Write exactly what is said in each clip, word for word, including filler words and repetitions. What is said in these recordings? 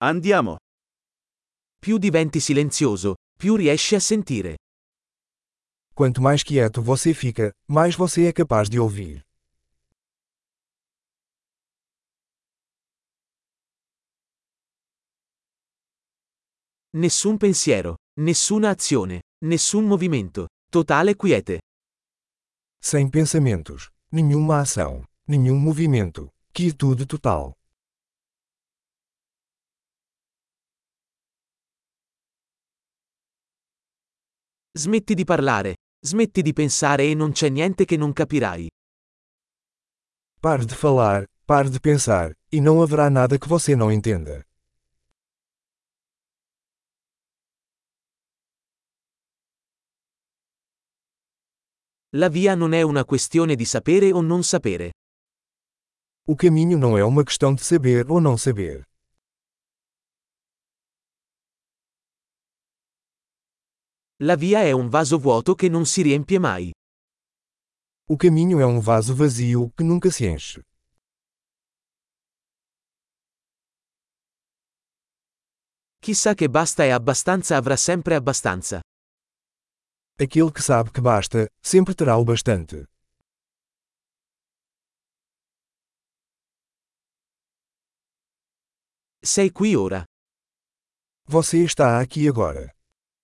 Andiamo. Più diventi silenzioso, più riesci a sentire. Quanto mais quieto você fica, mais você é capaz de ouvir. Nessun pensiero, nessuna azione, nessun movimento. Totale quiete. Sem pensamentos, nenhuma ação, nenhum movimento. Quietude total. Smetti di parlare, smetti di pensare e non c'è niente che non capirai. Pare de falar, pare de pensar, e não haverá nada que você não entenda. La via non è una questione di sapere o non sapere. O caminho não é uma questão de saber ou não saber. La via è un vaso vuoto che non si riempie mai. O caminho é um vaso vazio que nunca se enche. Chissà che basta e abbastanza avrà sempre abbastanza. Aquele que sabe que basta, sempre terá o bastante. Sei qui ora. Você está aqui agora.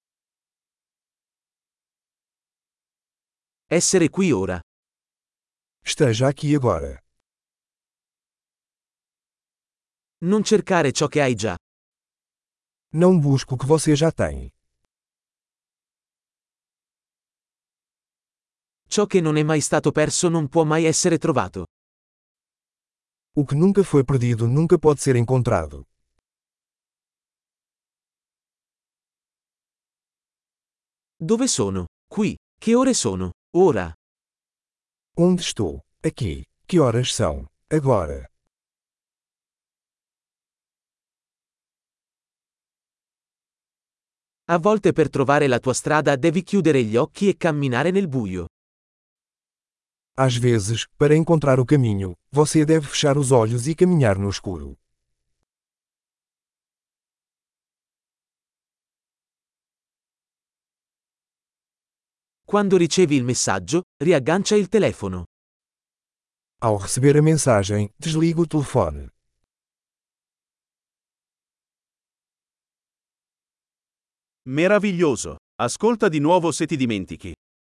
Essere qui ora. Esteja aqui agora. Non cercare ciò che hai già. Não busque o que você já tem. Ciò che non è mai stato perso non può mai essere trovato. O que nunca foi perdido nunca pode ser encontrado. Dove sono? Qui. Che ore sono? Ora. Onde estou? Aqui. Que horas são? Agora. A volte per trovare la tua strada devi chiudere gli occhi e camminare nel buio. Às vezes, para encontrar o caminho, você deve fechar os olhos e caminhar no escuro. Quando ricevi il messaggio, riaggancia il telefono. Ao receber a mensagem, desligue o telefone. Meraviglioso. Ascolta di nuovo se ti dimentichi.